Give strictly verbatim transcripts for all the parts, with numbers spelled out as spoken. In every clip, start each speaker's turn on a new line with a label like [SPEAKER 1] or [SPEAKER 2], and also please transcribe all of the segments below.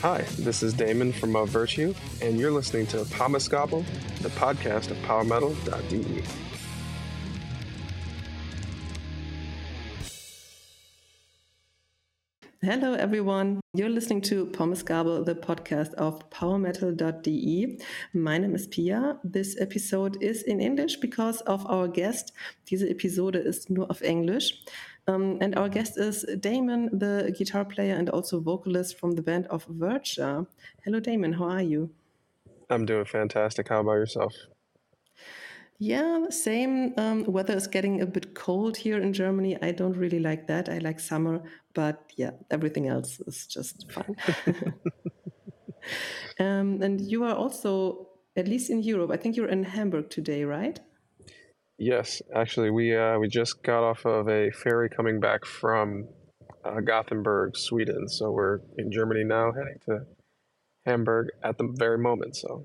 [SPEAKER 1] Hi, this is Damon from Of Virtue, and you're listening to Pomascobble, the podcast of power metal dot d e.
[SPEAKER 2] Hello, everyone. You're listening to Pomascobble, the podcast of power metal dot d e. My name is Pia. This episode is in English because of our guest. Diese Episode ist nur auf Englisch. Um, and our guest is Damon, the guitar player and also vocalist from the band of Virtue. Hello, Damon. How are you?
[SPEAKER 1] I'm doing fantastic. How about yourself?
[SPEAKER 2] Yeah, same. Um, weather is getting a bit cold here in Germany. I don't really like that. I like summer, but yeah, everything else is just fine. um, and you are also, at least in Europe, I think you're in Hamburg today, right?
[SPEAKER 1] Yes, actually, we uh, we just got off of a ferry coming back from uh, Gothenburg, Sweden. So we're in Germany now, heading to Hamburg at the very moment. So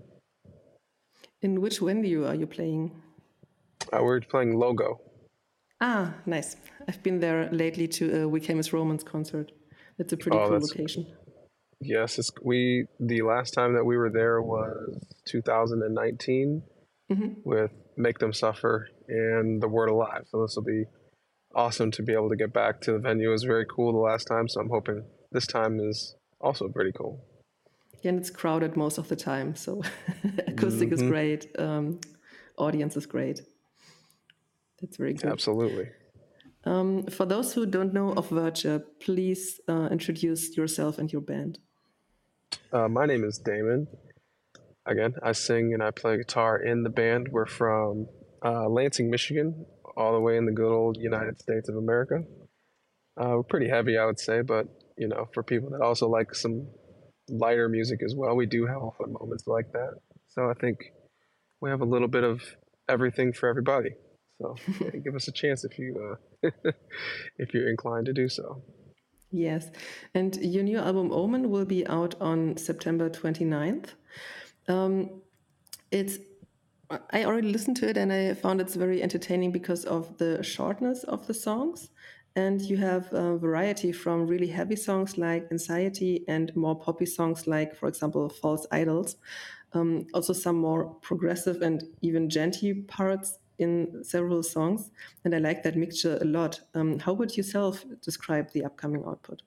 [SPEAKER 2] In which venue are you playing?
[SPEAKER 1] uh, we're playing Logo.
[SPEAKER 2] Ah, nice. I've been there lately to a We Came as Romans concert. That's a pretty
[SPEAKER 1] Oh,
[SPEAKER 2] cool
[SPEAKER 1] that's
[SPEAKER 2] location.
[SPEAKER 1] yes. It's, we the last time that we were there was two thousand nineteen with Make Them Suffer and The Word Alive. So this will be awesome to be able to get back to the venue. It was very cool the last time, so I'm hoping this time is also pretty cool.
[SPEAKER 2] Yeah, and it's crowded most of the time, so acoustic is
[SPEAKER 1] Mhm.
[SPEAKER 2] great, um, audience is great. That's very good.
[SPEAKER 1] Absolutely.
[SPEAKER 2] Um, for those who don't know of Virtue, please uh, introduce yourself and your band.
[SPEAKER 1] Uh, my name is Damon. Again, I sing and I play guitar in the band. We're from uh, Lansing, Michigan, all the way in the good old United States of America. Uh, we're pretty heavy, I would say, but you know, for people that also like some lighter music as well, we do have often moments like that. So I think we have a little bit of everything for everybody. So yeah, give us a chance if you uh, if you're inclined to do so.
[SPEAKER 2] Yes, and your new album Omen will be out on September twenty-ninth. Um, it's I already listened to it and I found it's very entertaining because of the shortness of the songs. And you have a variety from really heavy songs like Anxiety and more poppy songs like, for example, False Idols. Um, also, some more progressive and even genty parts in several songs. And I like that mixture a lot. Um, how would you self describe the upcoming output?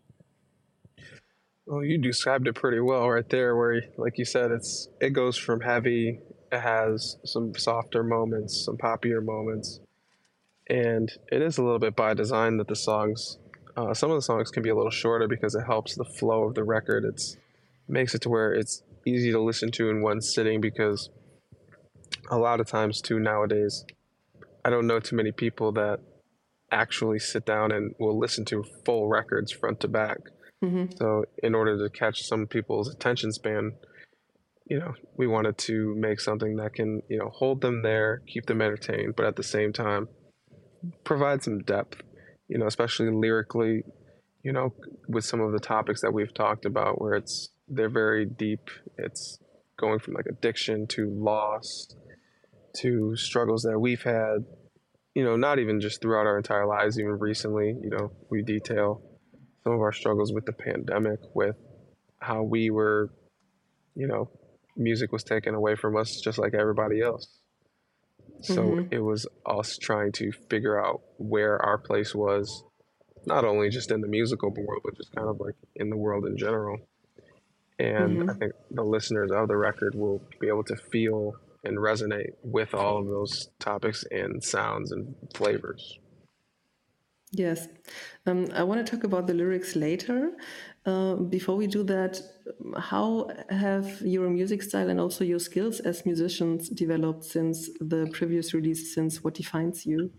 [SPEAKER 1] Well, you described it pretty well right there, where, like you said, it's it goes from heavy, it has some softer moments, some poppier moments, and it is a little bit by design that the songs, uh, some of the songs can be a little shorter because it helps the flow of the record. It's makes it to where it's easy to listen to in one sitting because a lot of times too nowadays, I don't know too many people that actually sit down and will listen to full records front to back.
[SPEAKER 2] Mm-hmm.
[SPEAKER 1] So in order to catch some people's attention span, you know, we wanted to make something that can, you know, hold them there, keep them entertained, but at the same time, provide some depth, you know, especially lyrically, you know, with some of the topics that we've talked about where it's, they're very deep. It's going from like addiction to loss to struggles that we've had, you know, not even just throughout our entire lives, even recently, you know, we detail some of our struggles with the pandemic, with how we were, you know, music was taken away from us just like everybody else. So
[SPEAKER 2] Mm-hmm.
[SPEAKER 1] it was us trying to figure out where our place was, not only just in the musical world, but just kind of like in the world in general. And I
[SPEAKER 2] Mm-hmm.
[SPEAKER 1] think the listeners of the record will be able to feel and resonate with all of those topics and sounds and flavors.
[SPEAKER 2] Yes. Um, I want to talk about the lyrics later. Uh, before we do that, how have your music style and also your skills as musicians developed since the previous release, since What Defines You?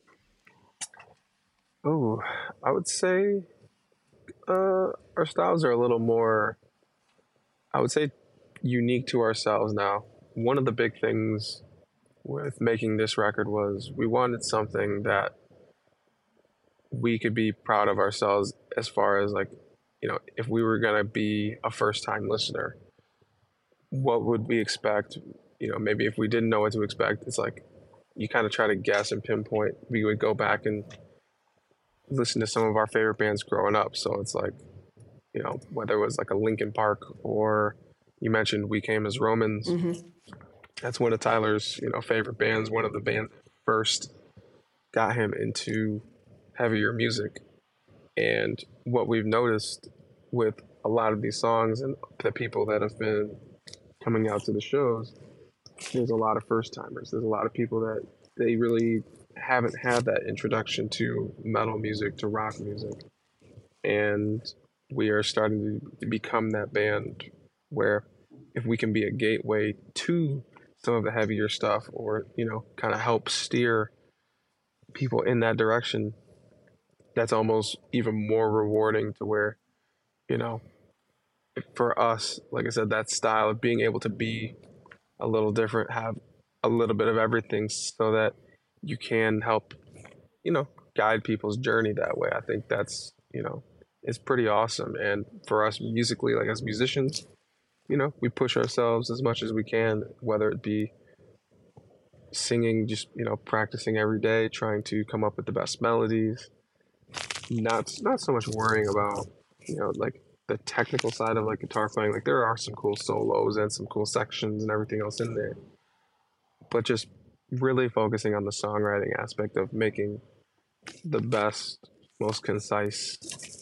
[SPEAKER 1] Oh, I would say uh, our styles are a little more, I would say, unique to ourselves now. One of the big things with making this record was we wanted something that we could be proud of ourselves as far as like, you know, if we were going to be a first time listener, what would we expect? You know, maybe if we didn't know what to expect, it's like you kind of try to guess and pinpoint. We would go back and listen to some of our favorite bands growing up. So it's like you know, whether it was like a Linkin Park or you mentioned We Came as Romans.
[SPEAKER 2] Mm-hmm.
[SPEAKER 1] That's one of Tyler's, you know, favorite bands. One of the bands that first got him into heavier music. And what we've noticed with a lot of these songs and the people that have been coming out to the shows, there's a lot of first timers. There's a lot of people that they really haven't had that introduction to metal music, to rock music. And we are starting to become that band where if we can be a gateway to some of the heavier stuff or, you know, kind of help steer people in that direction, that's almost even more rewarding to where, you know, for us, like I said, that style of being able to be a little different, have a little bit of everything so that you can help, you know, guide people's journey that way. I think that's, you know, it's pretty awesome. And for us musically, like as musicians, you know, we push ourselves as much as we can, whether it be singing, just, you know, practicing every day, trying to come up with the best melodies, not not so much worrying about, you know, like the technical side of like guitar playing. Like there are some cool solos and some cool sections and everything else in there, but just really focusing on the songwriting aspect of making the best, most concise,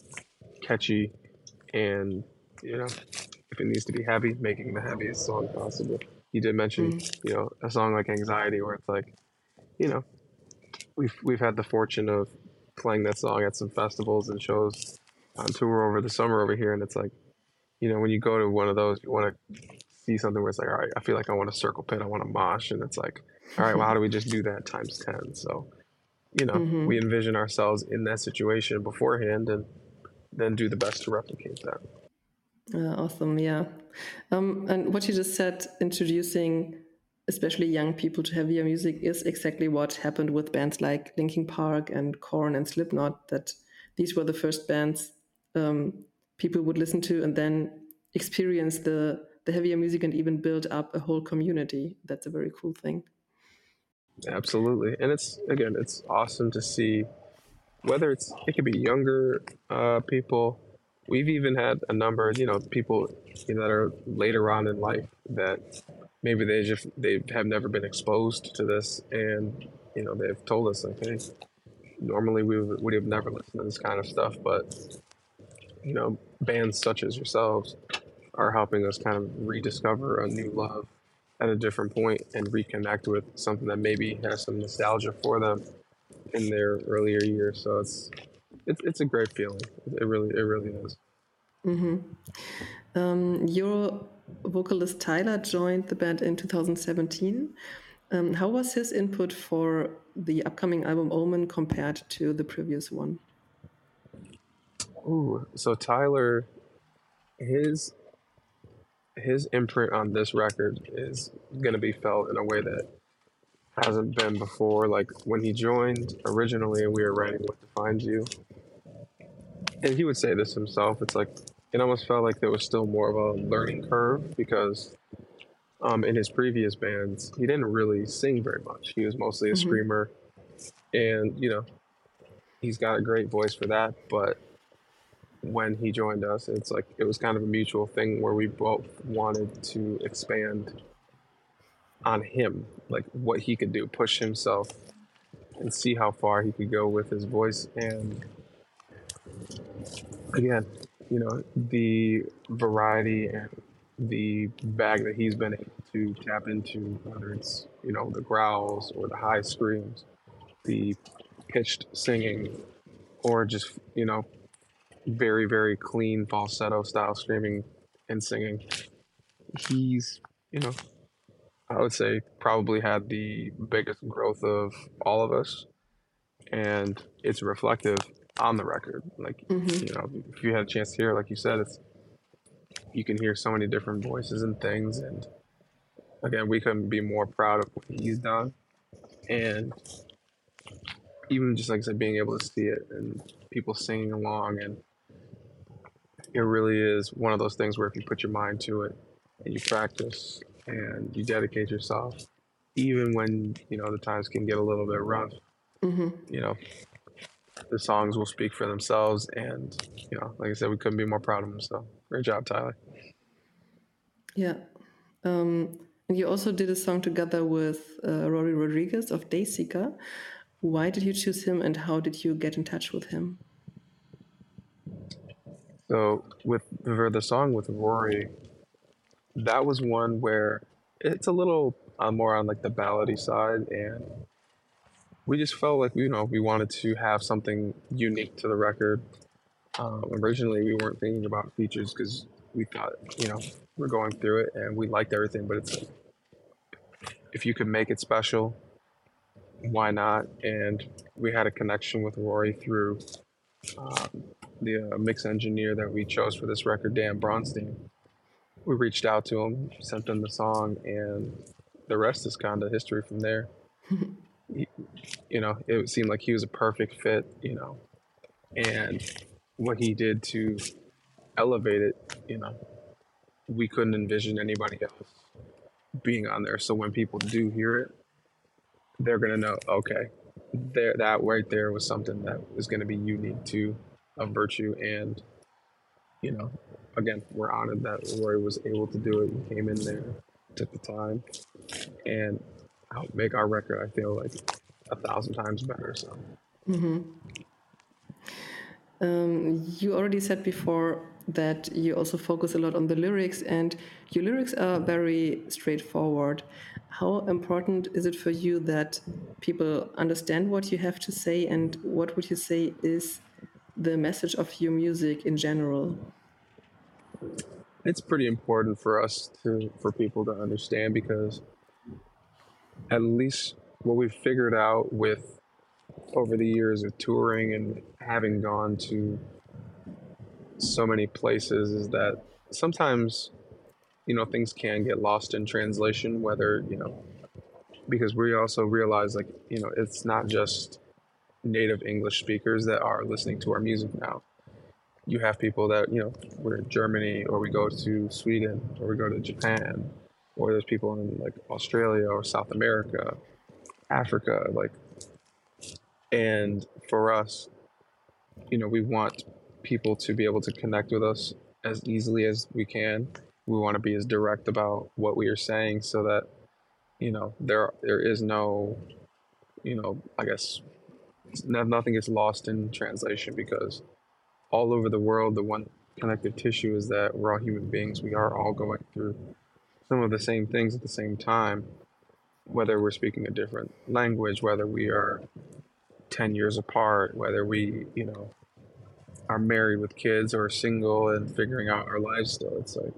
[SPEAKER 1] catchy, and, you know, if it needs to be heavy, making the heaviest song possible. You did mention,
[SPEAKER 2] Mm.
[SPEAKER 1] you know, a song like Anxiety, where it's like, you know, we've we've had the fortune of playing that song at some festivals and shows on tour over the summer over here, and it's like, you know, when you go to one of those, you want to see something where it's like, all right, I feel like I want a circle pit, I want to mosh, and it's like, all right, well, how do we just do that times ten? So, you know,
[SPEAKER 2] Mm-hmm.
[SPEAKER 1] we envision ourselves in that situation beforehand, and then do the best to replicate that.
[SPEAKER 2] Uh, awesome, yeah. Um, and what you just said, introducing especially young people to heavier music, is exactly what happened with bands like Linkin Park and Korn and Slipknot. That these were the first bands um, people would listen to, and then experience the the heavier music and even build up a whole community. That's a very cool thing.
[SPEAKER 1] Absolutely, and it's again, it's awesome to see whether it's it could be younger uh, people. We've even had a number, you know, people you know, that are later on in life that maybe they just they have never been exposed to this, and you know they've told us like, hey, normally we would, would have never listened to this kind of stuff, but you know, bands such as yourselves are helping us kind of rediscover a new love at a different point and reconnect with something that maybe has some nostalgia for them in their earlier years. So it's it's it's a great feeling. It really it really is.
[SPEAKER 2] Um, your vocalist Tyler joined the band in two thousand seventeen. Um, how was his input for the upcoming album Omen compared to the previous one?
[SPEAKER 1] Ooh, so Tyler, his his imprint on this record is gonna be felt in a way that hasn't been before. Like when he joined originally, and we were writing "What Defines You," and he would say this himself. It's like it almost felt like there was still more of a learning curve because um, in his previous bands, he didn't really sing very much. He was mostly a
[SPEAKER 2] Mm-hmm.
[SPEAKER 1] screamer, and you know he's got a great voice for that. But when he joined us, it's like it was kind of a mutual thing where we both wanted to expand on him, like what he could do, push himself, and see how far he could go with his voice. And again, you know, the variety and the bag that he's been able to tap into, whether it's, you know, the growls or the high screams, the pitched singing, or just, you know, very, very clean falsetto style screaming and singing. He's, you know, I would say probably had the biggest growth of all of us. And it's reflective on the record. Like, you
[SPEAKER 2] Mm-hmm.
[SPEAKER 1] know, if you had a chance to hear, it, like you said, it's you can hear so many different voices and things. And again, we couldn't be more proud of what he's done. And even just like I said, being able to see it and people singing along, and it really is one of those things where if you put your mind to it and you practice and you dedicate yourself, even when you know the times can get a little bit rough,
[SPEAKER 2] Mm-hmm.
[SPEAKER 1] you know, the songs will speak for themselves. And, you know, like I said, we couldn't be more proud of him. So great job, Tyler.
[SPEAKER 2] Yeah. Um, and you also did a song together with uh, Rory Rodriguez of Dayseeker. Why did you choose him and how did you get in touch with him?
[SPEAKER 1] So with for the song with Rory, that was one where it's a little uh, more on like the ballady side, and we just felt like you know we wanted to have something unique to the record. Um, originally, we weren't thinking about features because we thought you know we're going through it and we liked everything, but it's like if you could make it special, why not? And we had a connection with Rory through um, the uh, mix engineer that we chose for this record, Dan Bronstein. We reached out to him, sent him the song, and the rest is kind of history from there. He, you know, it seemed like he was a perfect fit, you know, and what he did to elevate it, you know, we couldn't envision anybody else being on there. So when people do hear it, they're gonna know, okay, there that right there was something that was gonna be unique to a Virtue, and you know, again, we're honored that Roy was able to do it. He came in there, took the time, and helped make our record, I feel like, a thousand times better. So.
[SPEAKER 2] Mm-hmm. Um, you already said before that you also focus a lot on the lyrics, and your lyrics are very straightforward. How important is it for you that people understand what you have to say, and what would you say is the message of your music in general?
[SPEAKER 1] It's pretty important for us to for people to understand because at least what we've figured out with over the years of touring and having gone to so many places is that sometimes you know things can get lost in translation, whether you know because we also realize like you know it's not just native English speakers that are listening to our music now. You have people that you know we're in Germany or we go to Sweden or we go to Japan, or there's people in like Australia or South America, Africa, like. And for us, you know, we want people to be able to connect with us as easily as we can. We want to be as direct about what we are saying so that, you know, there there is no, you know, I guess nothing gets lost in translation because all over the world, the one connective tissue is that we're all human beings. We are all going through some of the same things at the same time, whether we're speaking a different language, whether we are ten years apart, whether we, you know, are married with kids or single and figuring out our lives still. It's like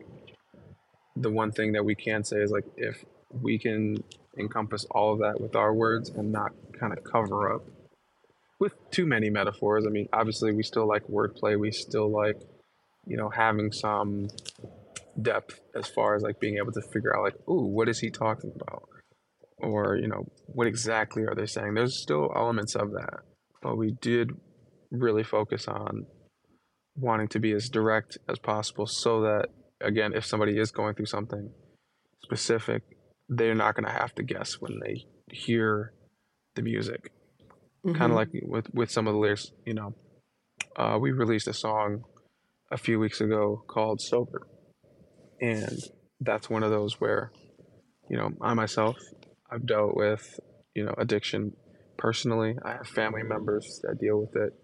[SPEAKER 1] the one thing that we can say is like if we can encompass all of that with our words and not kind of cover up with too many metaphors. I mean, obviously we still like wordplay. We still like, you know, having some depth as far as like being able to figure out like, ooh, what is he talking about? Or, you know, what exactly are they saying? There's still elements of that. But we did really focus on wanting to be as direct as possible so that again if somebody is going through something specific they're not going to have to guess when they hear the music. Mm-hmm. Kind of like with with some of the lyrics, you know, uh, we released a song a few weeks ago called Sober, and that's one of those where you know I myself I've dealt with you know addiction personally. I have family members that deal with it,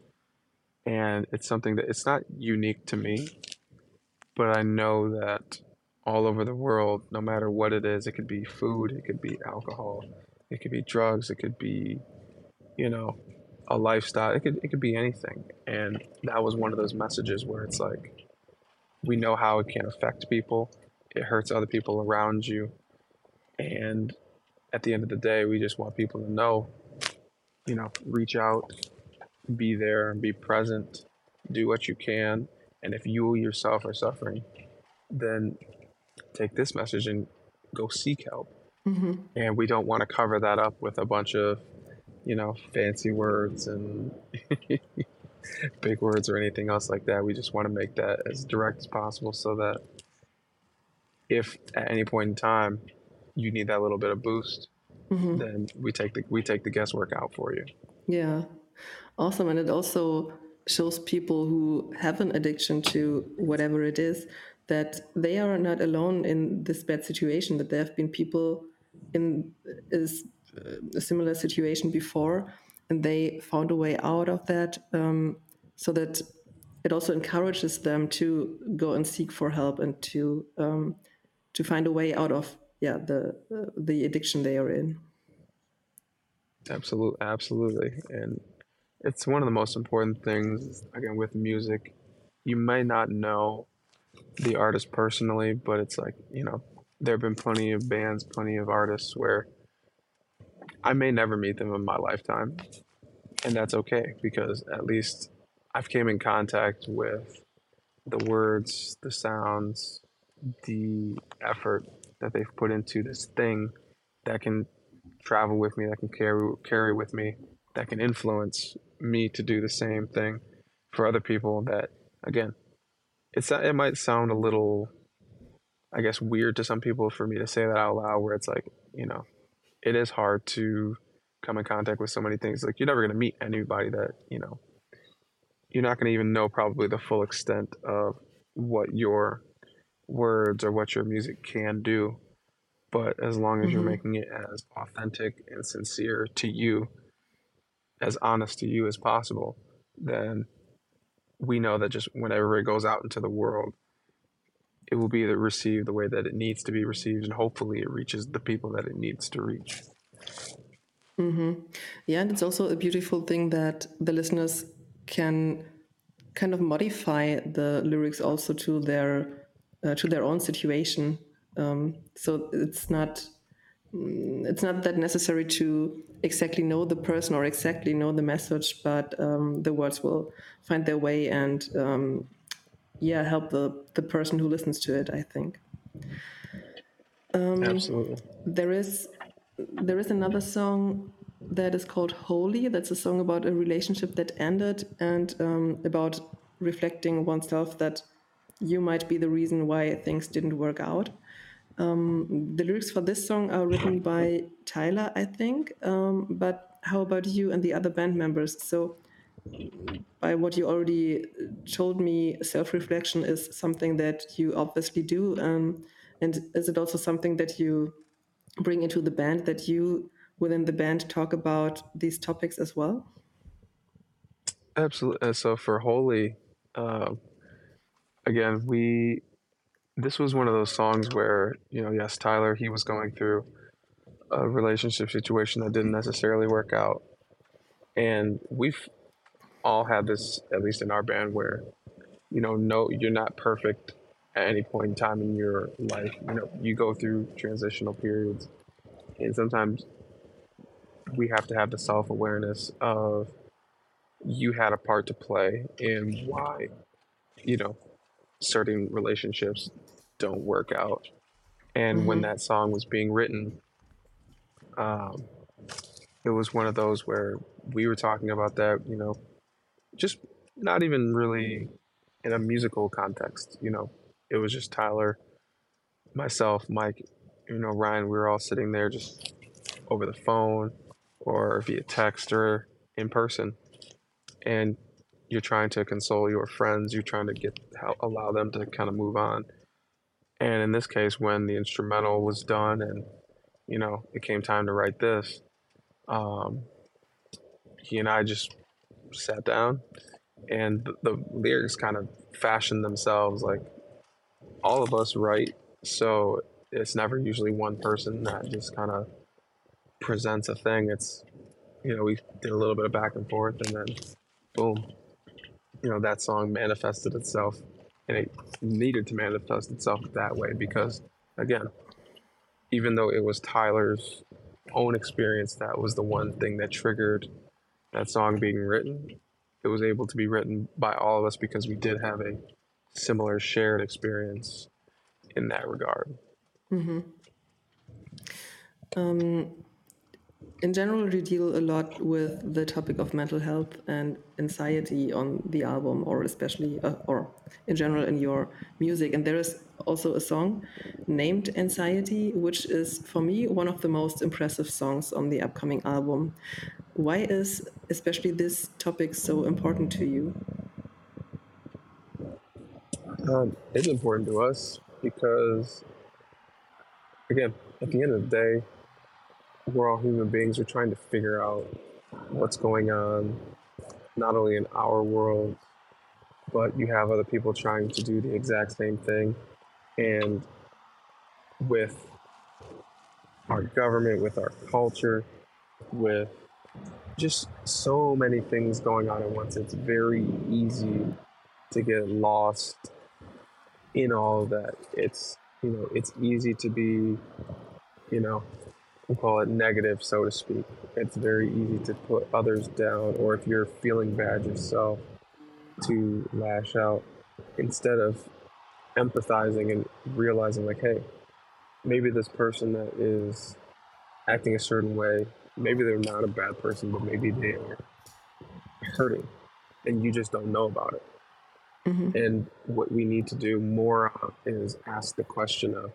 [SPEAKER 1] and it's something that it's not unique to me, but I know that all over the world, no matter what it is, it could be food, it could be alcohol, it could be drugs, it could be, you know, a lifestyle, it could it could be anything. And that was one of those messages where it's like we know how it can affect people. It hurts other people around you. And at the end of the day, we just want people to know, you know, reach out, be there, be present, do what you can. And if you yourself are suffering, then take this message and go seek help. Mm-hmm. And we don't want to cover that up with a bunch of, you know, fancy words and big words or anything else like that. We just want to make that as direct as possible so that if at any point in time you need that little bit of boost, mm-hmm. then we take the we take the guesswork out for you.
[SPEAKER 2] Yeah. Awesome. And it also shows people who have an addiction to whatever it is that they are not alone in this bad situation, that there have been people in is a similar situation before and they found a way out of that, um, so that it also encourages them to go and seek for help and to um, to find a way out of yeah the uh, the addiction they are in.
[SPEAKER 1] Absolutely, absolutely. And it's one of the most important things, again, with music. You may not know the artist personally, but it's like, you know, there have been plenty of bands, plenty of artists where I may never meet them in my lifetime. And that's okay because at least I've came in contact with the words, the sounds, the effort that they've put into this thing that can travel with me, that can carry carry with me, that can influence me to do the same thing for other people. That again, it's it might sound a little, I guess, weird to some people for me to say that out loud. Where it's like, you know, it is hard to come in contact with so many things. Like you're never gonna meet anybody that you know. You're not gonna even know probably the full extent of what your words or what your music can do. But as long as you're
[SPEAKER 2] Mm-hmm.
[SPEAKER 1] making it as authentic and sincere to you, as honest to you as possible, then we know that just whenever it goes out into the world, it will be received the way that it needs to be received, and hopefully it reaches the people that it needs to reach.
[SPEAKER 2] Mm-hmm. Yeah, and it's also a beautiful thing that the listeners can kind of modify the lyrics also to their uh, to their own situation. Um, so it's not it's not that necessary to exactly know the person or exactly know the message, but um, the words will find their way and um, yeah, help the the person who listens to it, I think.
[SPEAKER 1] Absolutely.
[SPEAKER 2] There is there is another song that is called Holy. That's a song about a relationship that ended and um, about reflecting oneself that you might be the reason why things didn't work out. Um, the lyrics for this song are written by Tyler, I think. Um, but how about you and the other band members? So, by what you already told me, self reflection is something that you obviously do. Um, and is it also something that you bring into the band, that you within the band talk about these topics as well?
[SPEAKER 1] Absolutely. And so for Holy, um, again, we this was one of those songs where you know, yes, Tyler, he was going through a relationship situation that didn't necessarily work out, and we've all had this, at least in our band, where you know, no, you're not perfect at any point in time in your life. You know, you go through transitional periods, and sometimes we have to have the self awareness of you had a part to play in why, you know, certain relationships don't work out. And when
[SPEAKER 2] Mm-hmm.
[SPEAKER 1] that song was being written, um, it was one of those where we were talking about that, you know, just not even really in a musical context. You know, it was just Tyler, myself, Mike, you know, Ryan. We were all sitting there just over the phone or via text or in person, and you're trying to console your friends. You're trying to get allow them to kind of move on. And in this case, when the instrumental was done and you know it came time to write this, um, he and I just sat down, and the, the lyrics kind of fashioned themselves. Like all of us write, so it's never usually one person that just kind of presents a thing. It's you know we did a little bit of back and forth, and then boom, you know that song manifested itself, and it needed to manifest itself that way because again, even though it was Tyler's own experience that was the one thing that triggered that song being written, it was able to be written by all of us because we did have a similar shared experience in that regard.
[SPEAKER 2] Mm-hmm. Um, in general, you deal a lot with the topic of mental health and anxiety on the album, or especially, uh, or in general in your music. And there is also a song named Anxiety, which is for me one of the most impressive songs on the upcoming album. Why is especially this topic so important to you?
[SPEAKER 1] Um, it's important to us because, again, at the end of the day, we're all human beings. We're trying to figure out what's going on, not only in our world, but you have other people trying to do the exact same thing. And with our government, with our culture, with just so many things going on at once, it's very easy to get lost in all of that. It's, you know, it's easy to be, you know, we'll call it negative, so to speak. It's very easy to put others down, or if you're feeling bad yourself, to lash out instead of empathizing and realizing, like, hey, maybe this person that is acting a certain way, maybe they're not a bad person, but maybe they are hurting and you just don't know about it.
[SPEAKER 2] Mm-hmm.
[SPEAKER 1] And what we need to do more of is ask the question of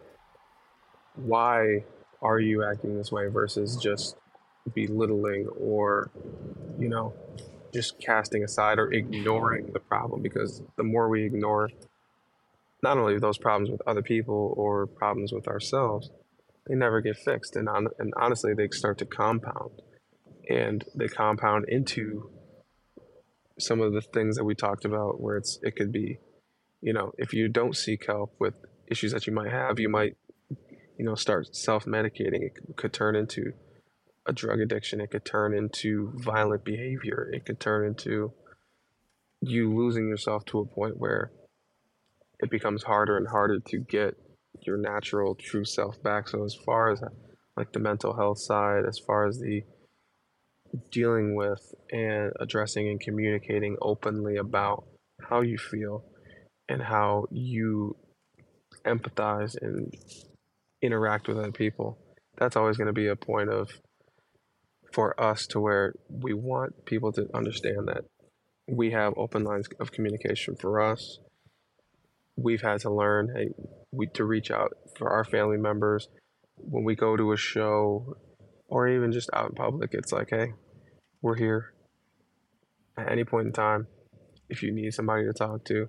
[SPEAKER 1] why are you acting this way versus just belittling or, you know, just casting aside or ignoring the problem. Because the more we ignore not only those problems with other people or problems with ourselves, they never get fixed. And, on, and honestly, they start to compound and they compound into some of the things that we talked about where it's, it could be, you know, if you don't seek help with issues that you might have, you might, you know, start self-medicating. It could turn into a drug addiction. It could turn into violent behavior. It could turn into you losing yourself to a point where it becomes harder and harder to get your natural true self back. So as far as like the mental health side, as far as the dealing with and addressing and communicating openly about how you feel and how you empathize and interact with other people, that's always going to be a point of for us to where we want people to understand that we have open lines of communication for us. We've had to learn, hey, we to reach out for our family members when we go to a show or even just out in public. It's like, hey, we're here at any point in time. If you need somebody to talk to,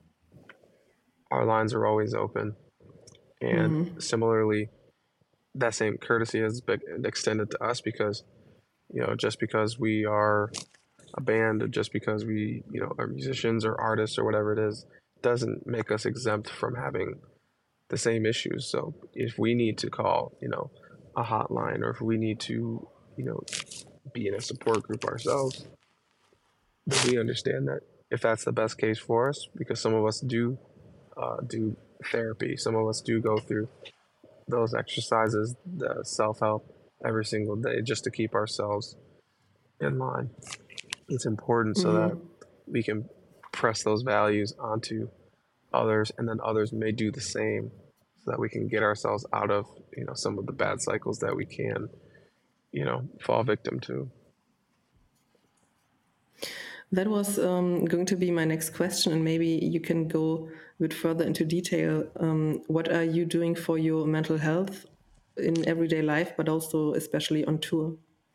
[SPEAKER 1] our lines are always open. And
[SPEAKER 2] Mm-hmm.
[SPEAKER 1] similarly, that same courtesy has been extended to us because, you know, just because we are a band or just because we, you know, are musicians or artists or whatever it is, doesn't make us exempt from having the same issues. So if we need to call, you know, a hotline or if we need to, you know, be in a support group ourselves, then we understand that if that's the best case for us, because some of us do uh, do therapy, some of us do go through those exercises, the self help every single day just to keep ourselves in line. It's important so that
[SPEAKER 2] Mm-hmm.
[SPEAKER 1] we can press those values onto others and then others may do the same so that we can get ourselves out of, you know, some of the bad cycles that we can, you know, fall victim to.
[SPEAKER 2] That was um, going to be my next question, and maybe you can go a bit further into detail. Um, what are you doing for your mental health in everyday life, but also especially on tour?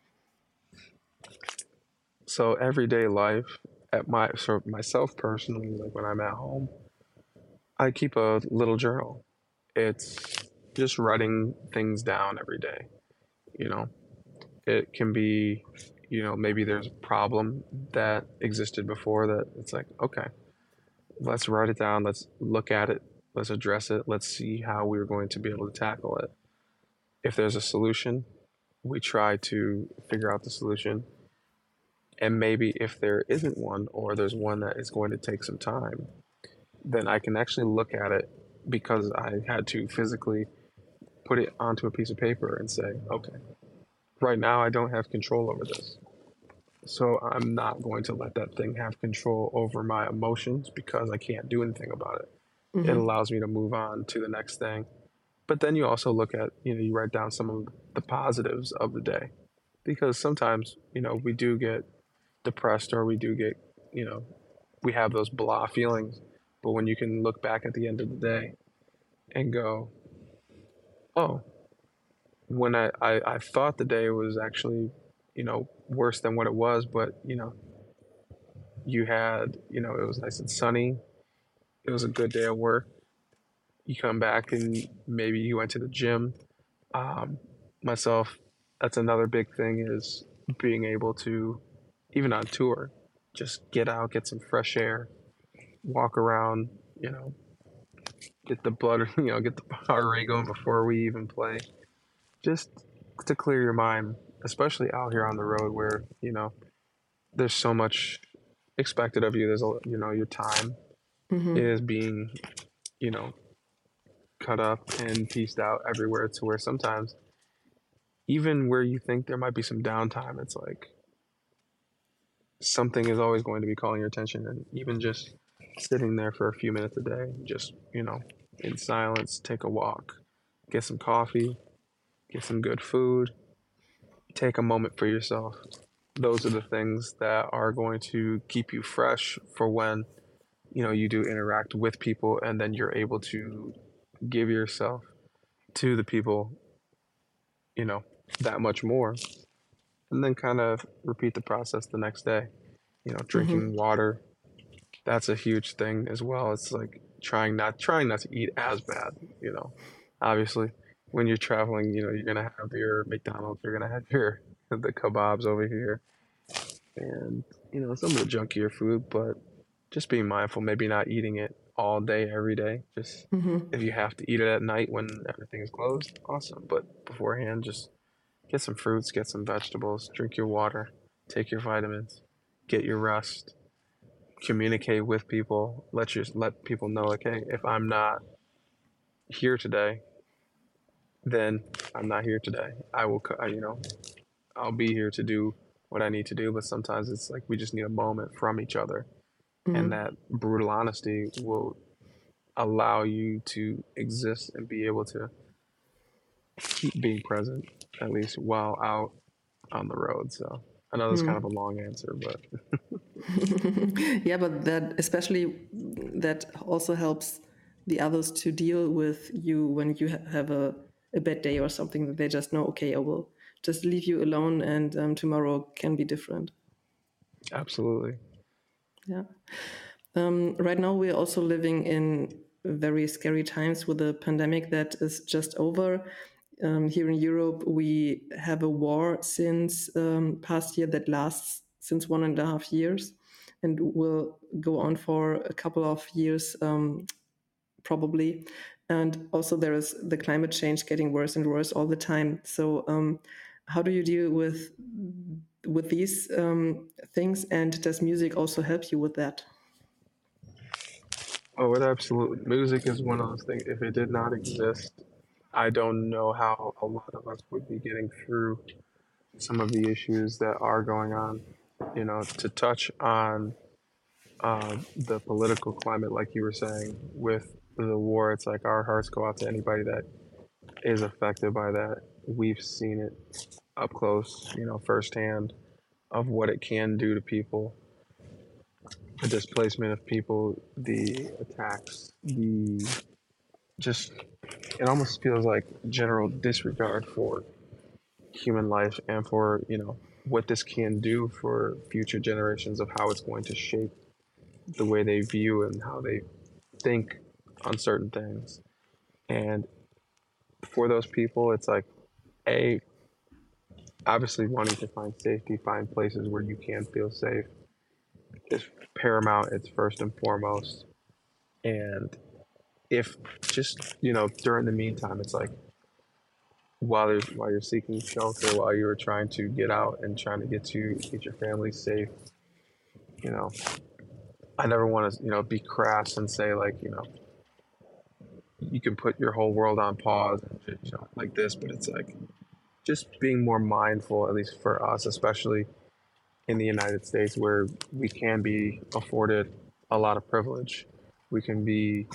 [SPEAKER 1] So everyday life at my so myself personally, like when I'm at home, I keep a little journal. It's just writing things down every day, you know. It can be, you know, maybe there's a problem that existed before that it's like, okay, let's write it down, let's look at it, let's address it, let's see how we're going to be able to tackle it. If there's a solution, we try to figure out the solution. And maybe if there isn't one, or there's one that is going to take some time, then I can actually look at it because I had to physically put it onto a piece of paper and say, okay, right now I don't have control over this. So I'm not going to let that thing have control over my emotions because I can't do anything about it. It
[SPEAKER 2] Mm-hmm.
[SPEAKER 1] allows me to move on to the next thing. But then you also look at, you know, you write down some of the positives of the day because sometimes, you know, we do get depressed or we do get, you know, we have those blah feelings. But when you can look back at the end of the day and go, oh, when I, I, I thought the day was actually, you know, worse than what it was, but, you know, you had, you know, it was nice and sunny. It was a good day at work. You come back and maybe you went to the gym. Um, Myself, that's another big thing is being able to, even on tour, just get out, get some fresh air, walk around, you know, get the blood, you know, get the heart rate going before we even play, just to clear your mind, especially out here on the road where, you know, there's so much expected of you. There's a, you know, your time
[SPEAKER 2] Mm-hmm.
[SPEAKER 1] is being, you know, cut up and pieced out everywhere to where sometimes even where you think there might be some downtime, it's like something is always going to be calling your attention. And even just sitting there for a few minutes a day, just, you know, in silence, take a walk, get some coffee, get some good food, take a moment for yourself. Those are the things that are going to keep you fresh for when, you know, you do interact with people and then you're able to give yourself to the people, you know, that much more. And then kind of repeat the process the next day. You know,
[SPEAKER 2] Mm-hmm.
[SPEAKER 1] drinking water, that's a huge thing as well. It's like trying not trying not to eat as bad, you know. Obviously, when you're traveling, you know, you're gonna have your McDonald's, you're gonna have your the kebabs over here, and you know some of the junkier food. But just being mindful, maybe not eating it all day every day. Just
[SPEAKER 2] Mm-hmm.
[SPEAKER 1] if you have to eat it at night when everything is closed, awesome. But beforehand, just get some fruits, get some vegetables, drink your water, take your vitamins, get your rest, communicate with people, let you let people know like, hey, if I'm not here today, then I'm not here today. I will, you know, I'll be here to do what I need to do. But sometimes it's like we just need a moment from each other, and
[SPEAKER 2] Mm-hmm.
[SPEAKER 1] that brutal honesty will allow you to exist and be able to keep being present at least while out on the road. So I know that's kind of a long answer, but
[SPEAKER 2] Yeah, but that especially that also helps the others to deal with you when you ha- have a, a bad day or something that they just know, okay, I will just leave you alone and um, tomorrow can be different.
[SPEAKER 1] absolutely.
[SPEAKER 2] Yeah. Um, right now, we're also living in very scary times with the pandemic that is just over. Um, here in Europe, we have a war since um, past year that lasts since one and a half years and will go on for a couple of years um, probably. And also, there is the climate change getting worse and worse all the time. So, um, how do you deal with with these um, things? And does music also help you with that?
[SPEAKER 1] Oh, it absolutely. Music is one of those things. If it did not exist, I don't know how a lot of us would be getting through some of the issues that are going on. You know, to touch on uh, the political climate, like you were saying, with the war, it's like our hearts go out to anybody that is affected by that. We've seen it up close, you know, firsthand of what it can do to people, the displacement of people, the attacks, the just, it almost feels like general disregard for human life and for, you know, what this can do for future generations of how it's going to shape the way they view and how they think on certain things. And for those people, it's like, A, obviously wanting to find safety, find places where you can feel safe is paramount. It's first and foremost. And if just, you know, during the meantime, it's like while you're, while you're seeking shelter, while you're trying to get out and trying to get to get your family safe, you know, I never want to, you know, be crass and say like, you know, you can put your whole world on pause and you know like this, but it's like just being more mindful, at least for us, especially in the United States, where we can be afforded a lot of privilege. We can be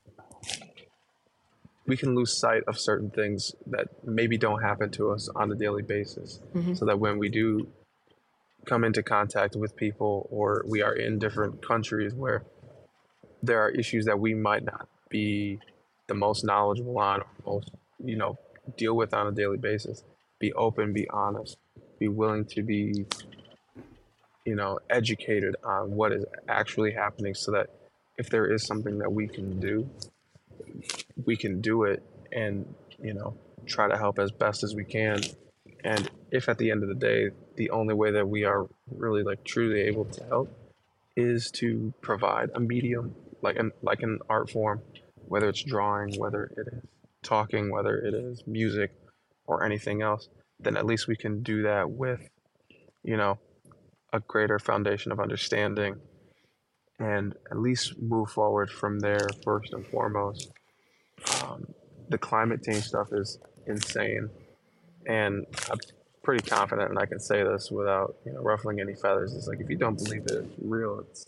[SPEAKER 1] we can lose sight of certain things that maybe don't happen to us on a daily basis. So that when we do come into contact with people or we are in different countries where there are issues that we might not be the most knowledgeable on, most, you know, deal with on a daily basis. Be open, be honest, be willing to be, you know, educated on what is actually happening so that if there is something that we can do, we can do it and, you know, try to help as best as we can. And if at the end of the day, the only way that we are really like truly able to help is to provide a medium like an like an art form, whether it's drawing, whether it is talking, whether it is music or anything else, then at least we can do that with, you know, a greater foundation of understanding and at least move forward from there first and foremost. Um, the climate change stuff is insane, and I'm pretty confident, and I can say this without, you know, ruffling any feathers. It's like if you don't believe that it's real, it's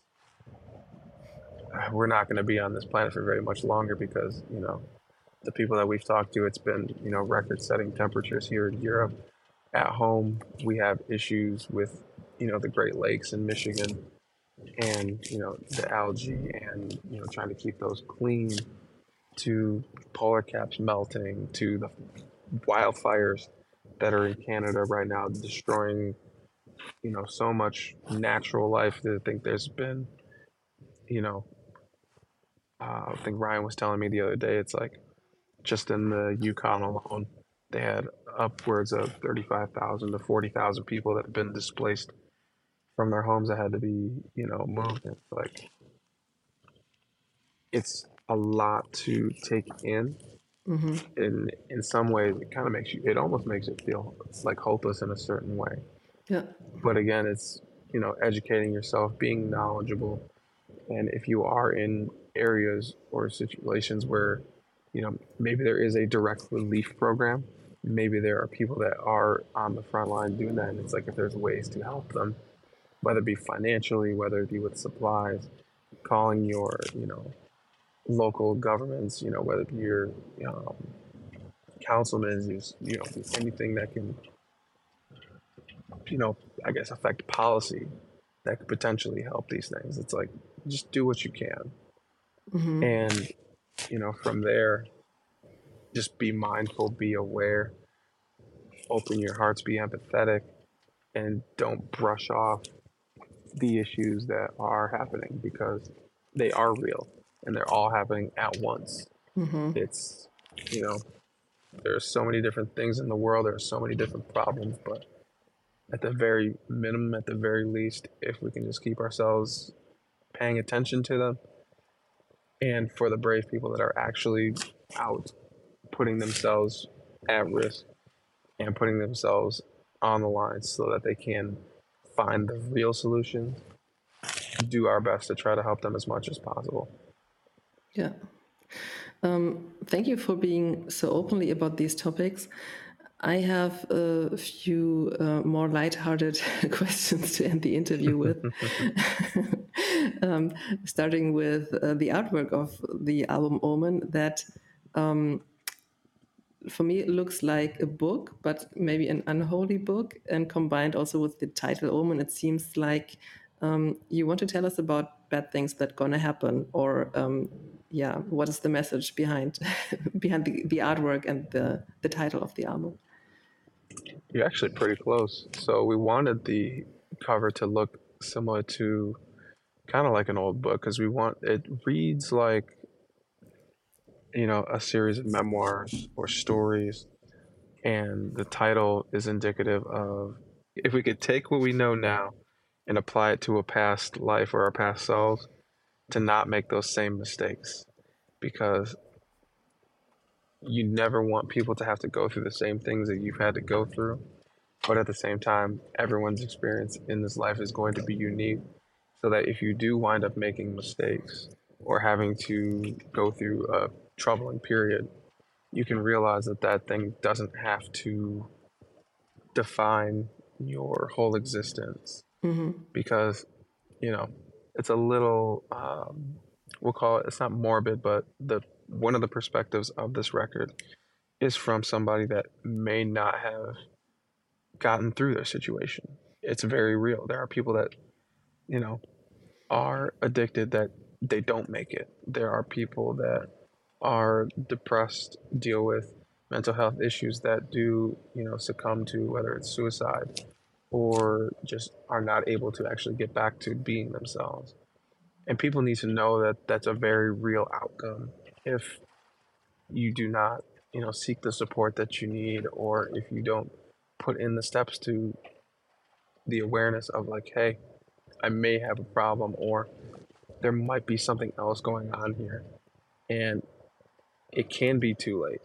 [SPEAKER 1] we're not going to be on this planet for very much longer because, you know, the people that we've talked to, it's been, you know, record-setting temperatures here in Europe. At home, we have issues with, you know, the Great Lakes in Michigan and, you know, the algae and, you know, trying to keep those clean, to polar caps melting, to the wildfires that are in Canada right now destroying, you know, so much natural life that I think there's been, you know, uh, I think Ryan was telling me the other day, it's like just in the Yukon alone, they had upwards of thirty-five thousand to forty thousand people that have been displaced from their homes that had to be, you know, moved. It's like, it's a lot to take in.
[SPEAKER 2] Mm-hmm.
[SPEAKER 1] In in some ways, it kind of makes you, it almost makes it feel like hopeless in a certain way.
[SPEAKER 2] Yeah.
[SPEAKER 1] But again, it's, you know, educating yourself, being knowledgeable, and if you are in areas or situations where, you know, maybe there is a direct relief program, maybe there are people that are on the front line doing that, and it's like if there's ways to help them, whether it be financially, whether it be with supplies, calling your, you know, local governments, you know, whether it be your um, councilmen, you know, anything that can, you know, I guess affect policy that could potentially help these things. It's like just do what you can,
[SPEAKER 2] Mm-hmm.
[SPEAKER 1] and, you know, from there, just be mindful, be aware, open your hearts, be empathetic, and don't brush off the issues that are happening because they are real and they're all happening at once.
[SPEAKER 2] Mm-hmm.
[SPEAKER 1] It's, you know, there's so many different things in the world, there are so many different problems, but at the very minimum, at the very least, if we can just keep ourselves paying attention to them, and for the brave people that are actually out putting themselves at risk and putting themselves on the line so that they can find the real solution, do our best to try to help them as much as possible.
[SPEAKER 2] Yeah. Um, thank you for being so openly about these topics. I have a few uh, more lighthearted questions to end the interview with. um, starting with uh, the artwork of the album Omen, that um, for me it looks like a book, but maybe an unholy book, and combined also with the title Omen, it seems like um, you want to tell us about bad things that gonna happen, or um, yeah, what is the message behind behind the, the artwork and the, the title of the album?
[SPEAKER 1] You're actually pretty close. So we wanted the cover to look similar to kind of like an old book because we want it reads like, you know, a series of memoirs or stories, and the title is indicative of if we could take what we know now and apply it to a past life or our past selves, to not make those same mistakes, because you never want people to have to go through the same things that you've had to go through. But at the same time, everyone's experience in this life is going to be unique. So that if you do wind up making mistakes or having to go through a troubling period, you can realize that that thing doesn't have to define your whole existence.
[SPEAKER 2] Mm-hmm.
[SPEAKER 1] Because, you know, it's a little, um, we'll call it, it's not morbid, but the one of the perspectives of this record is from somebody that may not have gotten through their situation. It's very real. There are people that, you know, are addicted that they don't make it. There are people that are depressed, deal with mental health issues that do, you know, succumb to whether it's suicide or just are not able to actually get back to being themselves. And people need to know that that's a very real outcome if you do not, you know, seek the support that you need, or if you don't put in the steps to the awareness of like, hey, I may have a problem, or there might be something else going on here. And it can be too late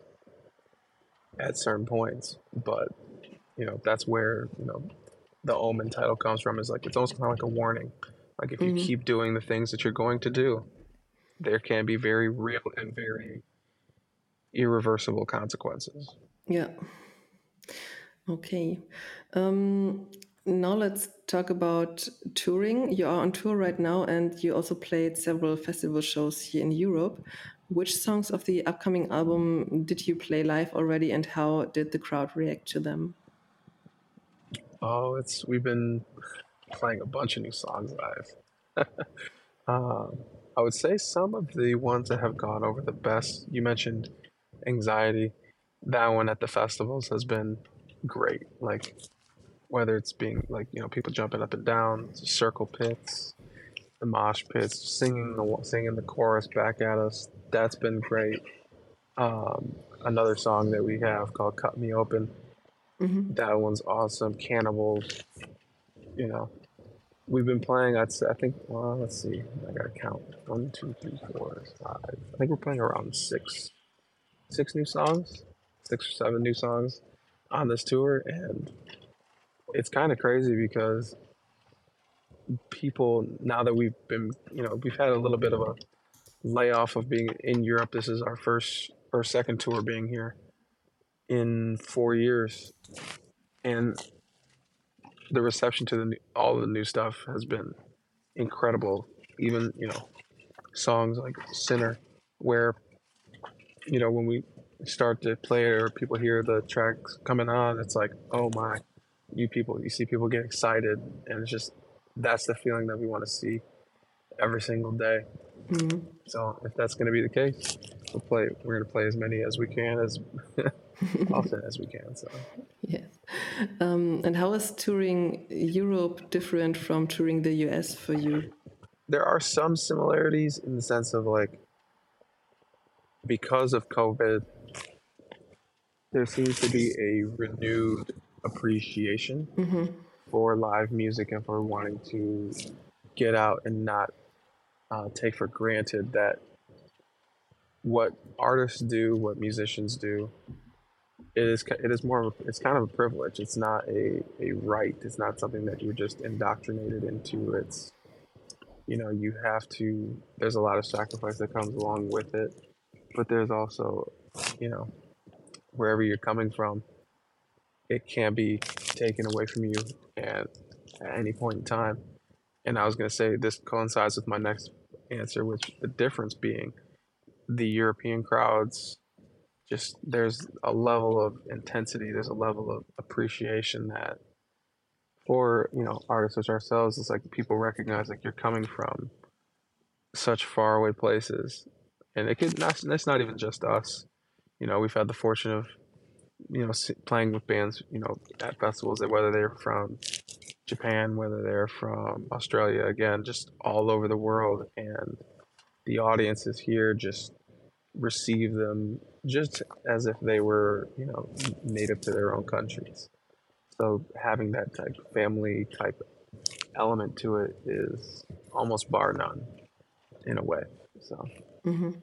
[SPEAKER 1] at certain points, but you know, that's where, you know, the Omen title comes from, is like it's almost kind of like a warning. Like if you
[SPEAKER 2] Mm-hmm.
[SPEAKER 1] keep doing the things that you're going to do, there can be very real and very irreversible consequences.
[SPEAKER 2] Yeah. Okay. Um, now let's talk about touring. You are on tour right now, and you also played several festival shows here in Europe. Which songs of the upcoming album did you play live already, and how did the crowd react to them?
[SPEAKER 1] Oh, it's we've been playing a bunch of new songs live. um, I would say some of the ones that have gone over the best. You mentioned Anxiety. That one at the festivals has been great. Like whether it's being like, you know, people jumping up and down, circle pits, the mosh pits, singing the singing the chorus back at us. That's been great. Um, Another song that we have called "Cut Me Open."
[SPEAKER 2] Mm-hmm.
[SPEAKER 1] That one's awesome. Cannibals. You know, we've been playing. I'd say, I think. Well, let's see. I gotta count. One, two, three, four, five. I think we're playing around six, six new songs, six or seven new songs on this tour, and it's kind of crazy because people, now that we've been, you know, we've had a little bit of a layoff of being in Europe. This is our first or second tour being here in four years, and the reception to the new, all of the new stuff has been incredible. Even, you know, songs like "Sinner," where, you know, when we start to play it or people hear the tracks coming on, it's like, oh my, you people, you see people get excited, and it's just that's the feeling that we want to see every single day.
[SPEAKER 2] Mm-hmm.
[SPEAKER 1] So if that's going to be the case, we'll play. We're going to play as many as we can, as often as we can. So
[SPEAKER 2] Yes. Um, and how is touring Europe different from touring the U S for you?
[SPEAKER 1] there are some similarities in the sense of like, because of COVID, there seems to be a renewed appreciation
[SPEAKER 2] Mm-hmm.
[SPEAKER 1] for live music and for wanting to get out and not uh, take for granted that what artists do, what musicians do, it is it is more of a, it's kind of a privilege. It's not a, a right. It's not something that you're just indoctrinated into. It's, you know, you have to. There's a lot of sacrifice that comes along with it, but there's also, you know, wherever you're coming from, it can be taken away from you and at any point in time. And I was going to say this coincides with my next answer, which the difference being the European crowds, just there's a level of intensity, there's a level of appreciation that for, you know, artists such ourselves, it's like people recognize like you're coming from such faraway places, and it could not. That's not even just us. You know, we've had the fortune of, you know, playing with bands, you know, at festivals, that whether they're from Japan, whether they're from Australia, again, just all over the world, and the audiences here just receive them just as if they were, you know, native to their own countries. So having that type of family type element to it is almost bar none in a way. So
[SPEAKER 2] Mm-hmm.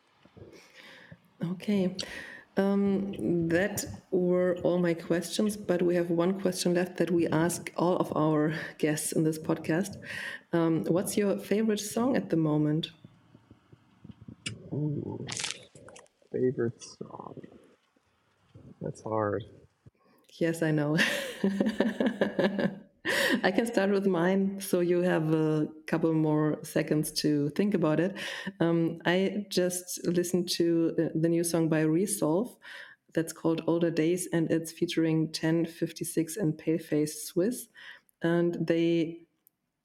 [SPEAKER 2] Okay. Um, that were all my questions, but we have one question left that we ask all of our guests in this podcast. Um, what's your favorite song at the moment?
[SPEAKER 1] ooh, favorite song. That's hard.
[SPEAKER 2] Yes, I know. I can start with mine, so you have a couple more seconds to think about it. Um, I just listened to uh, the new song by Resolve that's called Older Days, and it's featuring ten fifty-six and Paleface Swiss. And they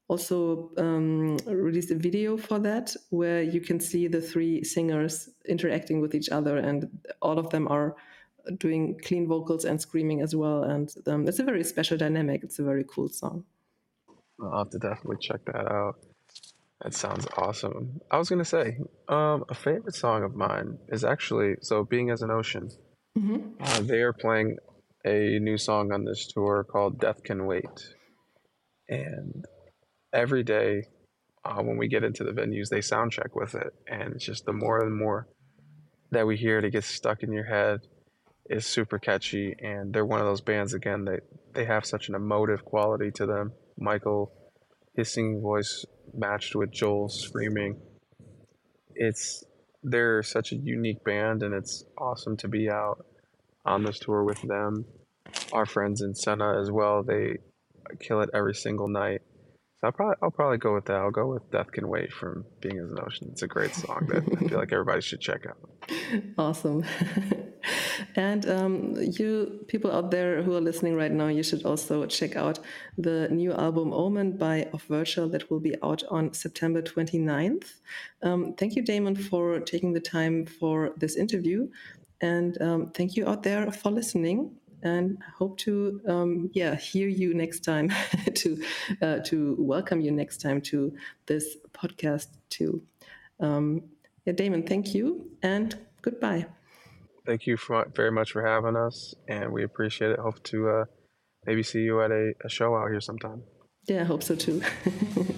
[SPEAKER 2] also um, released a video for that where you can see the three singers interacting with each other, and all of them are doing clean vocals and screaming as well. And um, it's a very special dynamic. It's a very cool song.
[SPEAKER 1] I'll have to definitely check that out. That sounds awesome. I was gonna say, um, a favorite song of mine is actually so Being as an Ocean.
[SPEAKER 2] Mm-hmm.
[SPEAKER 1] Uh, they are playing a new song on this tour called Death Can Wait. And every day uh, when we get into the venues, they sound check with it. And it's just the more and more that we hear it, it gets stuck in your head. It's super catchy. And they're one of those bands, again, that they have such an emotive quality to them. Michael, his singing voice matched with Joel's screaming. It's they're such a unique band, and it's awesome to be out on this tour with them. Our friends in Senna as well, they kill it every single night. So I'll probably I'll probably go with that. I'll go with Death Can Wait from Being as an Ocean. It's a great song that I feel like everybody should check out.
[SPEAKER 2] Awesome. And um, you people out there who are listening right now, you should also check out the new album Omen by Off Virtual that will be out on September twenty-ninth. Um, thank you, Damon, for taking the time for this interview. And um, thank you out there for listening. And hope to um, yeah hear you next time to uh, to welcome you next time to this podcast too. Um, yeah, Damon, thank you and goodbye.
[SPEAKER 1] Thank you for, very much for having us, and we appreciate it. Hope to uh, maybe see you at a, a show out here sometime.
[SPEAKER 2] Yeah, I hope so too.